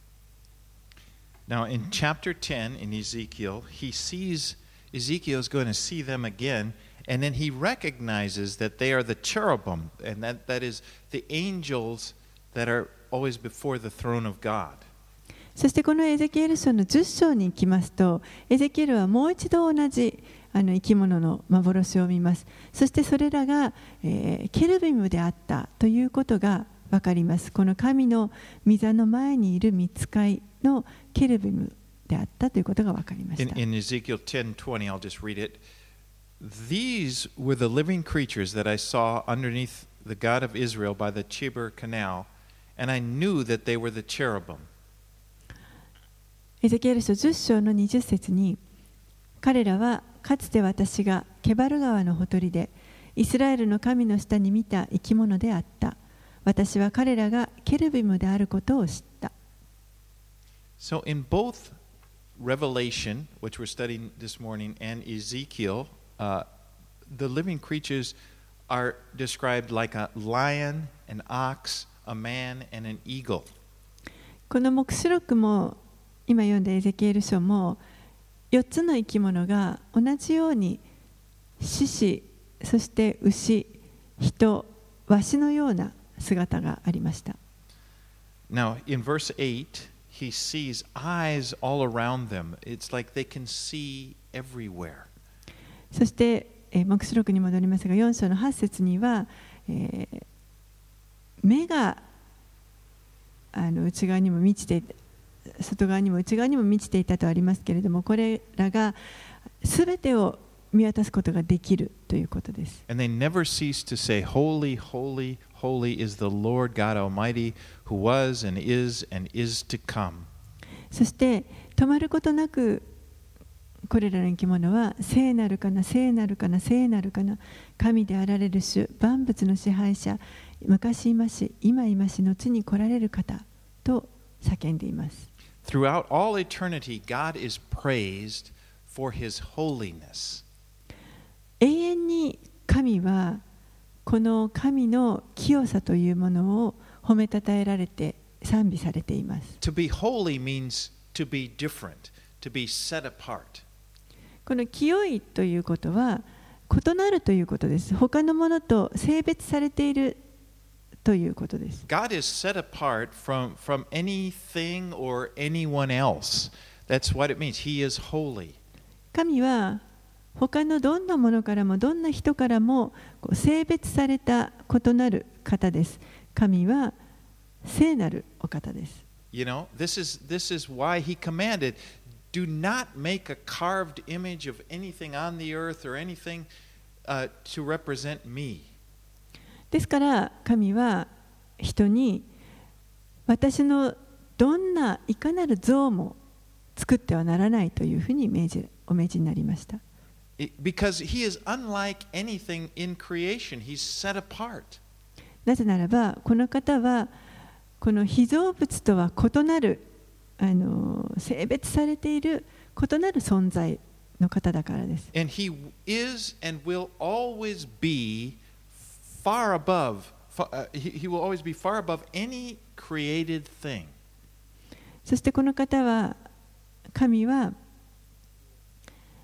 Now, in chapter ten in Ezekiel, he sees, Ezekiel is going to see them again, and then he recognizes that they are the cherubim, and that, that is the angels that are always before the throne of God. そしてこのエゼキエル書のじゅっ章に行きますと、エゼキエルはもう一度同じあの生き物の幻を見ます。そしてそれらが、えー、ケルビムであったということが分かります。この神の御座の前にいる御使いのケルビムであったということが分かりました。 In, in Ezekiel ten twenty, I'll just read it. These were the living creatures that I saw underneath the God of Israel by the Chebar Canal, and I knew that they were the cherubim. エゼキエル書じゅっ章のにじゅっ節に、彼らはかつて私がケバル川のほとりでイスラエルの神の下に見た生き物であった。私は彼らがケルビムであることを知った。 So in both Revelation, which we're studying this morning, and Ezekiel, uh, the living creatures are described like a lion, an ox, a man, and an eagle. この黙示録も今読んだエゼキエル書もよっつの生き物が同じように獅子、そして牛、人、ワシのような姿がありました。 Now, in verse eight, he sees eyes all around them. It's like they can see everywhere. そして、えー、黙示録に戻りますが、よん章のはち節には、えー、目があの内側にも満ちていて、外側にも内側にも満ちていたとありますけれども、これらがすべてを見渡すことができるということです。 And they never cease to say, Holy, holy, holy is the Lord God Almighty, who was and is and is to come. そして止まることなくこれらの生き物は聖なるかな、聖なるかな、聖なるかな、神であられる主、万物の支配者、昔いまし、今いまし、後に来られる方と叫んでいます。 Throughout all eternity, God is praised for his holiness. 永遠に神はこの神の清さというものを褒めたたえられて賛美されています。 To be holy means to be different, to be set apart. この清いということは異なるということです。他のものと性別されているということです。 God is set apart from, from anything or anyone else. That's what it means. He is holy. 神は他のどんなものからもどんな人からも性別された異なる方です。神は聖なるお方です。 You know, this is, this is why he commanded, do not make a carved image of anything on the earth or anything uh, to represent me. ですから神は人に私のどんないかなる像も作ってはならないというふうに命じお命じになりました。 Because he is unlike anything in creation. He's set apart. なぜならばこの方はこの被造物とは異なるあの性別されている異なる存在の方だからです。 And he is and will always be far above, uh, he, he will always be far above any created thing. そしてこの方は、神は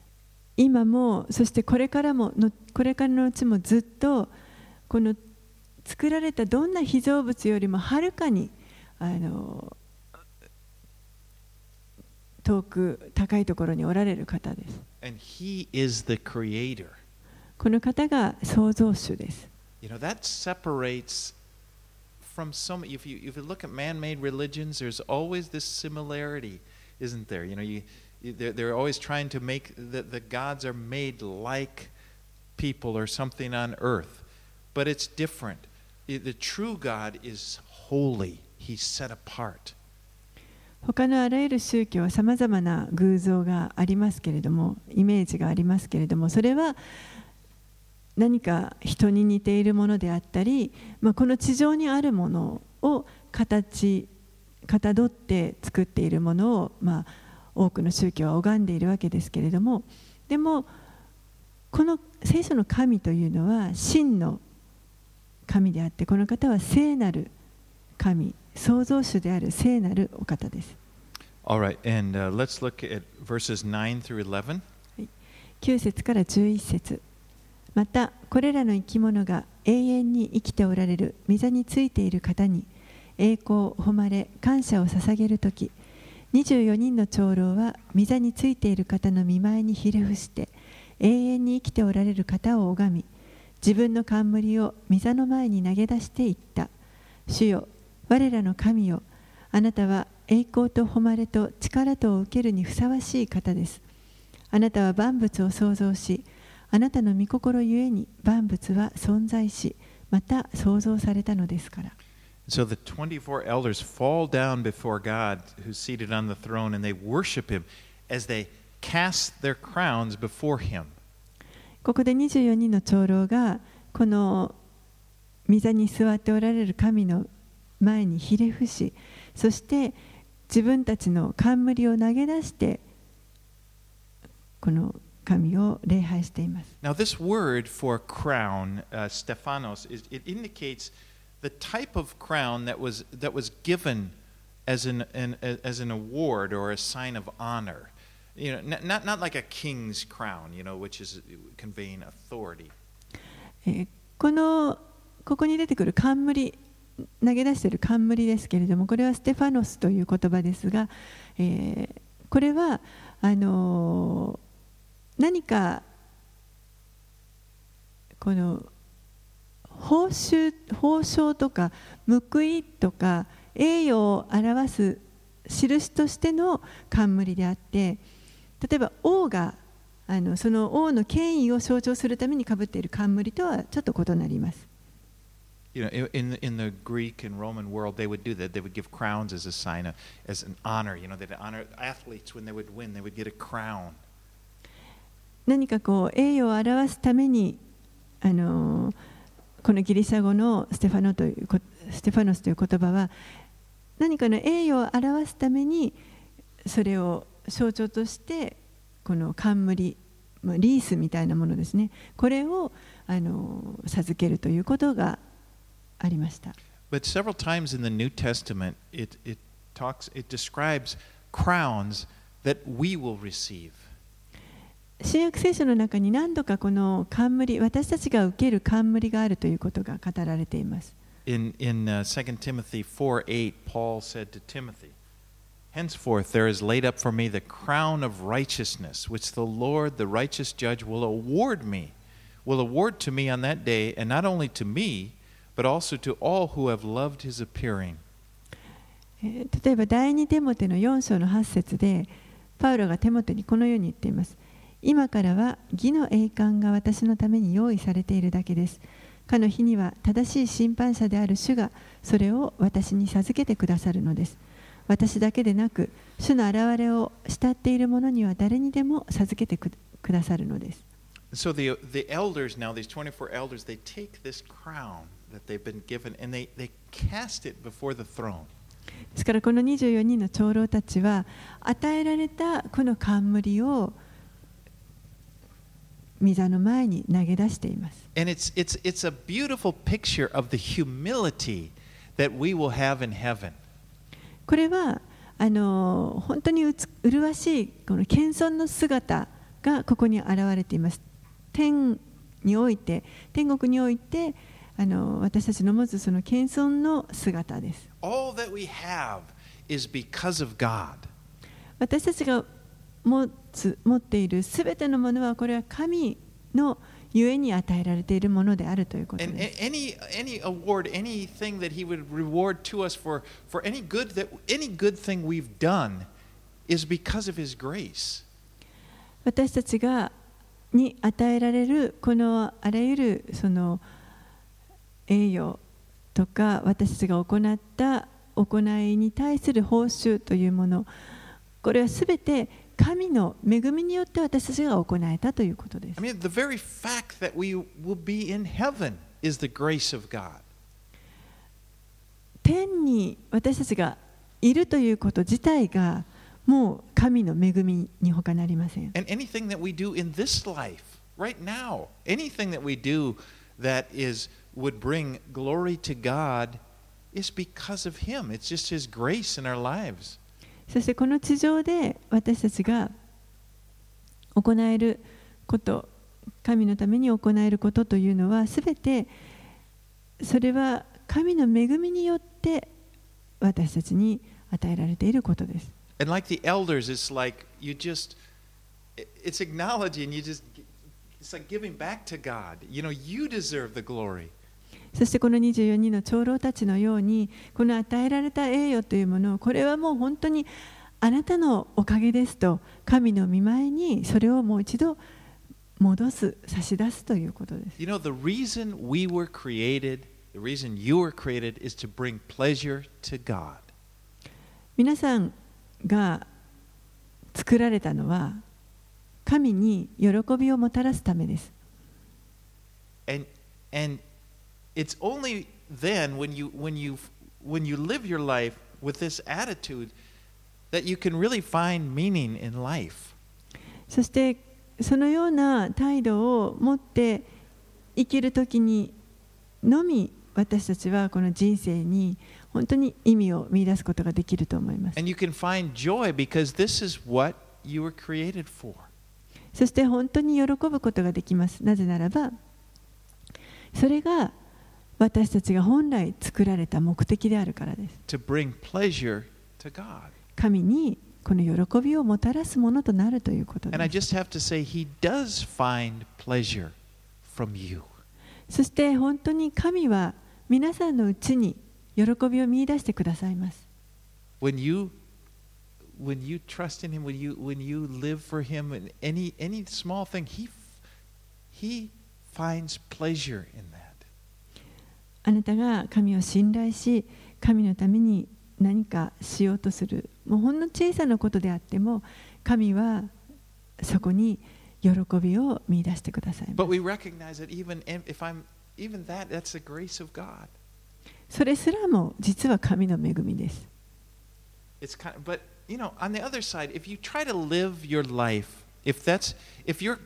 今も、そしてこれからもの、これからのうちもずっとこの作られたどんな被造物よりもはるかにあの遠く高いところにおられる方です。 And he is the creator. この方が創造主です。 You know, that separates from some, if you, if you look at man-made religions, there's always this similarity, isn't there? You know, you, you, they're, they're always trying to make, the, the gods are made like people or something on earth. But it's different. The true God is holy. He's set apart. 他のあらゆる宗教はさまざまな偶像がありますけれども、イメージがありますけれども、それは何か人に似ているものであったり、まあ、この地上にあるものを形かたどって作っているものを、まあ、多くの宗教は拝んでいるわけですけれども、でもこの聖書の神というのは真の神であって、この方は聖なる神、創造主である聖なるお方です。 All right, and、uh, let's look at verses nine through eleven. きゅう節からじゅういち節。またこれらの生き物が永遠に生きておられる御座についている方に栄光、誉れ、感謝を捧げるとき、にじゅうよにんの長老は御座についている方の御前にひれ伏して永遠に生きておられる方を拝み、自分の冠を御座の前に投げ出していった。主よ、我らの神よ、あなたは栄光と誉れと力とを受けるにふさわしい方です。あなたは万物を創造し、あなたの御心ゆえに万物は存在し、また創造されたのですから。 So the twenty-four elders fall down before God who's seated on the throne and they worship him as they cast their crowns before him. ここでにじゅうよにんの長老がこの御座に座っておられる神の前にひれ伏し、そして自分たちの冠を投げ出してこの神を礼拝しています。 Now this word for crown, uh, Stephanos, is, it indicates the type of crown that was that was given as an, an as an award or a sign of honor. You know, not not like a king's crown, you know, which is conveying authority. このここに出てくる冠、投げ出している冠ですけれども、これはステファノスという言葉ですが、えー、これはあのー、何かこの報酬、報奨とか報いとか栄誉を表す印としての冠であって、例えば王があのその王の権威を象徴するためにかぶっている冠とはちょっと異なります。 You know, in the, in the Greek and Roman world, they would do that. They would give crowns as a sign of, as an honor. You know, they'd honor athletes when they would win. They would get a crown. 何かこう栄誉を表すために、あのこのギリシャ語のステファノというステファノスという言葉は何かの栄誉を表すためにそれを象徴としてこの冠、リースみたいなものですね。これをあの授けるということがありました。 But several times in the New Testament, it, it talks, it describes crowns that we will receive. 新約聖書の中に何度かこの冠、私たちが受ける冠があるということが語られています。 In, in uh, Second Timothy four eight, Paul said to Timothy, Henceforth there is laid up for me the crown of righteousness, which the Lord, the righteous judge, will award me, will award to me on that day, and not only to me, but also to all who have loved his appearing. 例えば第二テモテのよん章のはち節でパウロがテモテにこのように言っています。今からは義の栄冠が私のために用意されているだけです。かの日には正しい審判者である主がそれを私に授けてくださるのです。私だけでなく主の現れを慕っている者には誰にでも授けてくださるのです。 So the, the elders now, these twenty-four elders, they take this crown that they've been given and they, they cast it before the throne. ですからこのにじゅうよにんの長老たちは与えられたこの冠を御座の前に投げ出しています。 And it's, it's, it's a beautiful picture of the humility that we will have in heaven. これはあの本当にうつ麗しいこの謙遜の姿がここに現れています。天において、天国においてあの私たちの持つその謙遜の姿です。 All that we have is because of God. 私たちが持つ持っているすべてのものはこれは神のゆえに与えられているものであるということ And です。 any any award, anything that He would reward to us for for any good that any good thing we've done is because of His grace. 私たちがに与えられるこのあらゆるその栄誉とか私たちが行った行いに対する報酬というもの、これはすべて神の恵みによって私たちが行えたということです。 I mean, the very fact that we will be in heaven is the grace of God. 天に私たちがいるということ自体がもう神の恵みに他なりません。 And anything that we do in this life, right now, anything that we do that is would bring glory to God is because of Him. It's just His grace in our lives. そしてこの地上で私たちが行えること、神のために行えることというのはすべてそれは神の恵みによって私たちに与えられていることです。 And like the elders, it's like you just, it's acknowledging, you just, it's like giving back to God. You know, you deserve the glory. そしてこのにじゅうよにんの長老たちのようにこの与えられた栄誉というものをこれはもう本当にあなたのおかげですと神の御前にそれをもう一度戻す差し出すということです。 You know, the reason we were created, the reason you were created is to bring pleasure to God. 皆さんが作られたのは神に喜びをもたらすためです。 And, and it's only then when you, when, you, when you live your life with this attitude that you can really find meaning in life. そしてそのような態度を持って生きるときにのみ私たちはこの人生に本当に意味を見出すことができると思います。 And you can find joy because this is what you were created for. そして本当に喜ぶことができます。なぜならばそれが私たちが本来作られた目的であるからです。 To bring pleasure to God. 神にこの喜びをもたらすものとなるということ And I です。 just have to say, He does find pleasure from you. そして本当に神は皆さんのうちに喜びを見出してくださいます。 When you, when you trust in Him, when you, when you live for Him, in any, any small thing, He, He finds pleasure in that. あなたが神を信頼し、神のために何かしようとする、もうほんの小さなことであっても、神はそこに喜びを見出してくださいま But す。 we recognize that even if I'm, even that, that's the grace of God. それすらも実は神の恵みです。 It's kind of, but you know, on the other side, if you try to live your life, if that's, if your,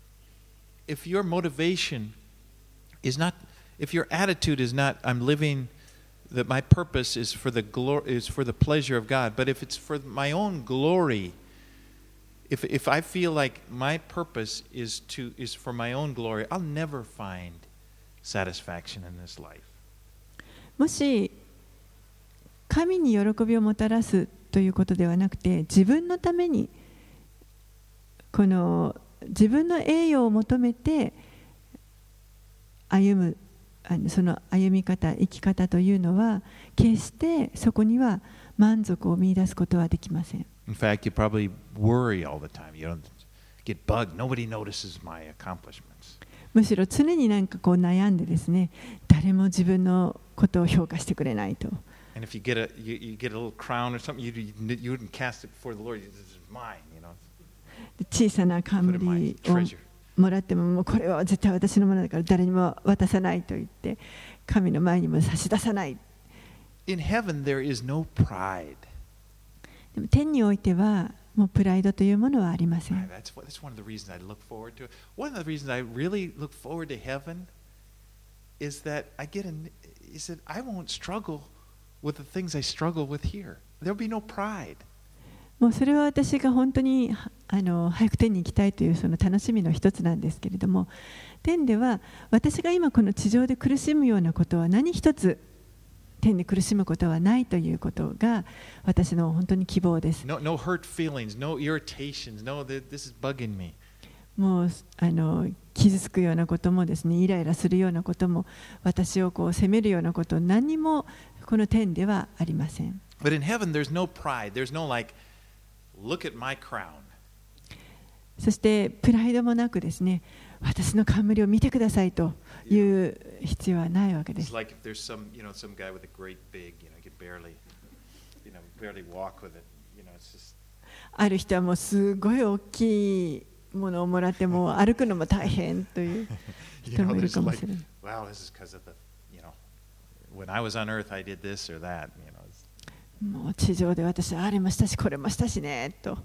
if your motivation is not, if your attitude is not, I'm living, that my purpose is for the glory, is for the pleasure of God, but if it's for my own glory, if if I feel like my purpose is to is for my own glory, I'll never find satisfaction in this life. もし神に喜びをもたらすということではなくて、自分のためにこの自分の栄誉を求めて歩むあのその歩み方、生き方というのは決してそこには満足を見出すことはできません。 In fact, you probably worry all the time. You don't get bugged. Nobody notices my accomplishments. むしろ常になんかこう悩んでですね、誰も自分のことを評価してくれないと。 And if you get a you, you get a little crown or something, you you wouldn't cast it before the Lord. This is mine, you know. 小さな冠をもらっても、もうこれは絶対私のものだから誰にも渡さないと言って神の前にも差し出さない。 In heaven, there is no pride. でも天においてはもうプライドというものはありません。 That's what, that's one of the reasons I look forward to it. One of the reasons I really look forward to heaven is that I get an is that I won't struggle with the things I struggle with here. There'll be no pride. もうそれは私が本当にあの早く天に行きたいというその楽しみの一つなんですけれども、天では私が今この地上で苦しむようなことは何一つ天で苦しむことはないということが私の本当に希望です。 No, no hurt feelings, no irritations, no, this is bugging me. もうあの傷つくようなこともですね、イライラするようなことも、私をこう責めるようなこと、何もこの天ではありません。 But in heaven, there's no pride. There's no like, look at my crown. そしてプライドもなくですね、私の冠を見てくださいという必要はないわけで It's す。 like if there's some, you know, some guy with a great big, you know, he can barely, you know, barely walk with it. You know, it's just. ある人はもうすごい大きいものをもらっても歩くのも大変という You 人 know, もいる there's かも like, しれない。 wow, this is because of the, you know, when I was on earth, I did this or that. You know. It's, もう地上で私はあれもしたしこれもしたしねと。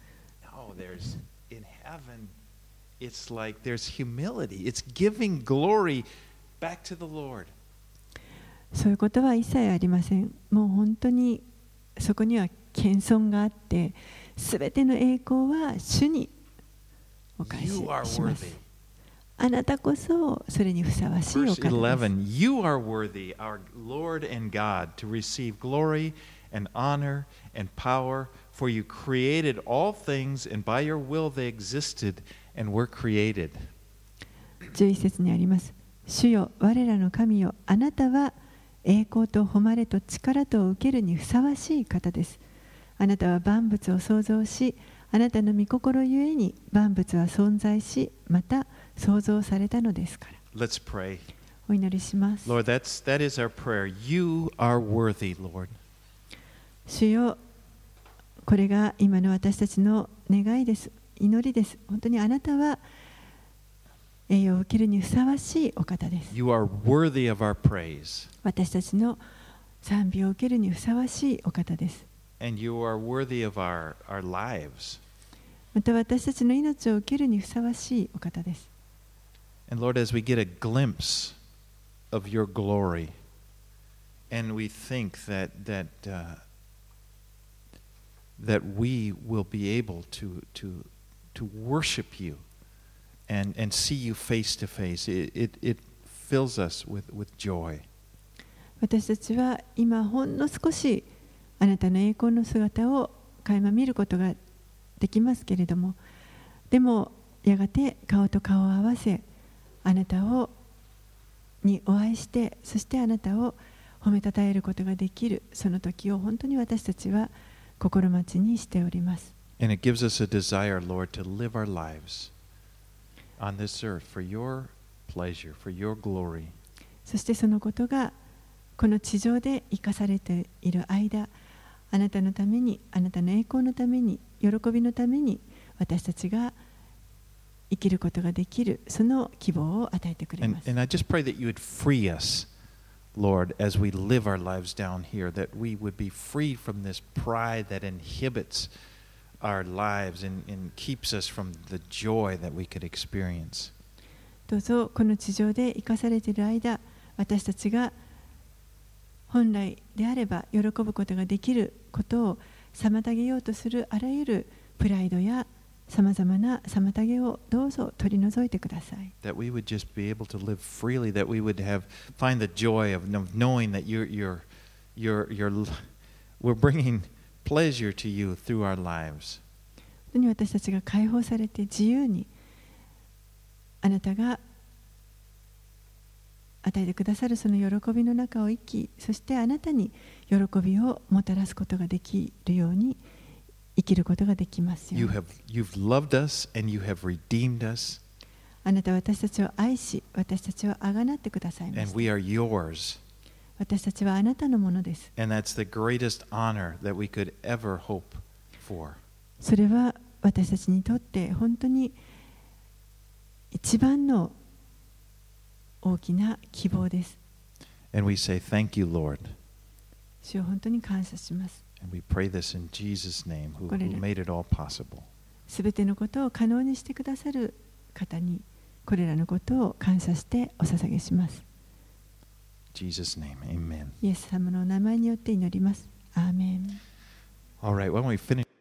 no, there's in heaven. It's like there's humility. It's giving glory back to the Lord. そういうことは一切ありません。もう本当にそこには謙遜があって、すべての栄光は主にお返し You are しま worthy. す。あなたこそそれにふさわしいお Verse 方です。 eleven, you are worthy, our Lord and God, to receive glory and honor and power, for you created all things, and by your will they existed and were created. じゅういち節にあります。主よ、我らの神よ、あなたは栄光と誉れと力とを受けるにふさわしい方です。あなたは万物を創造し、あなたの御心ゆえに万物は存在し、また創造されたのですから。 Let's pray. お祈りします。 Lord, that's, that is our prayer. You are worthy, Lord. 主よ、これが今の私たちの願いです。祈りです。本当にあなたは栄誉を受けるにふさわしいお方です。 You are worthy of our praise. 私たちの賛美を受けるにふさわしいお方です。 And you are worthy of our, our lives. また私たちの命を受けるにふさわしいお方です。 And Lord, as we get a glimpse of your glory, and we think that, that, uh, that we will be able to, to, to worship you and, and see you face to face, it, it, it fills us with, with joy. 私たちは今ほんの少しあなたの栄光の姿を垣間見ることができますけれども、でもやがて顔と顔を合わせ、あなたをにお会いして、そしてあなたを褒めたたえることができる、その時を本当に私たちは心待ちにしております。 And it gives us a desire, Lord, to live our lives on this earth for your pleasure, for your glory. そしてそのことがこの地上で生かされている間、あなたのために、あなたの栄光のために、喜びのために私たちが生きることができる、その希望を与えてくれ And, ます。 and I just pray that you would free us, Lord, as we live our lives down here, that we would be free from this pride that inhibits our lives and, and keeps us from the joy that we could experience. どうぞこの地上で生かされている間、私たちが本来であれば喜ぶことができることを妨げようとするあらゆるプライドやさまざまな妨げをどうぞ取り除いてください。 That we would just be able to live freely, that we would have find the joy of knowing that you're, you're, you're, you're, we're bringing pleasure to you through our lives. 本当に私たちが解放されて自由にあなたが与えてくださるその喜びの中を生き、そしてあなたに喜びをもたらすことができるように生きることができますよ You うに。 have, you've loved us and you have redeemed us, あなたは私たちを愛し、私たちをあがなってくださいま and した。 we are yours. 私たちはあなたのものです。 And that's the greatest honor that we could ever hope for. それは私たちにとって本当に一番の大きな希望です。 And we say, Thank you, Lord. 主を本当に感謝します。 And we pray this in Jesus' name, who, これら who made it all possible. すべてのことを可能にしてくださる方に、これらのことを感謝してお捧げします。 In Jesus' name, amen. イエス様のお名前によって祈ります。アーメン。 All right, why don't we finish?